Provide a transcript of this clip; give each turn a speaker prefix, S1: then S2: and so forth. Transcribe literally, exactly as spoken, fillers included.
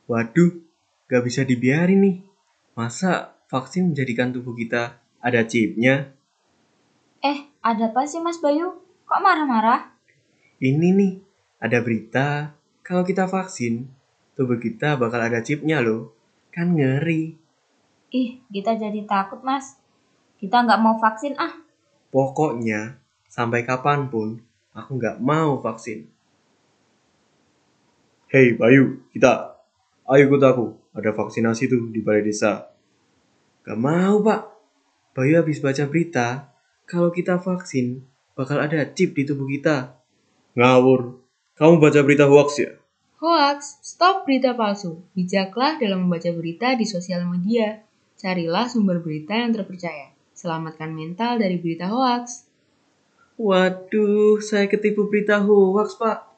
S1: Waduh, gak bisa dibiarin nih. Masa vaksin menjadikan tubuh kita ada chipnya?
S2: Eh, ada apa sih Mas Bayu? Kok marah-marah?
S1: Ini nih, ada berita kalau kita vaksin, tubuh kita bakal ada chipnya loh. Kan ngeri.
S2: Ih, kita jadi takut Mas. Kita nggak mau vaksin ah.
S1: Pokoknya, sampai kapanpun, aku nggak mau vaksin. Hei Bayu, kita. Ayo ikut aku. Ada vaksinasi tuh di balai desa. Gak mau pak. Bayu habis baca berita, kalau kita vaksin, bakal ada chip di tubuh kita. Ngawur. Kamu baca berita hoax ya?
S3: Hoax, stop berita palsu. Bijaklah dalam membaca berita di sosial media. Carilah sumber berita yang terpercaya. Selamatkan mental dari berita hoax.
S1: Waduh, saya ketipu berita hoax pak.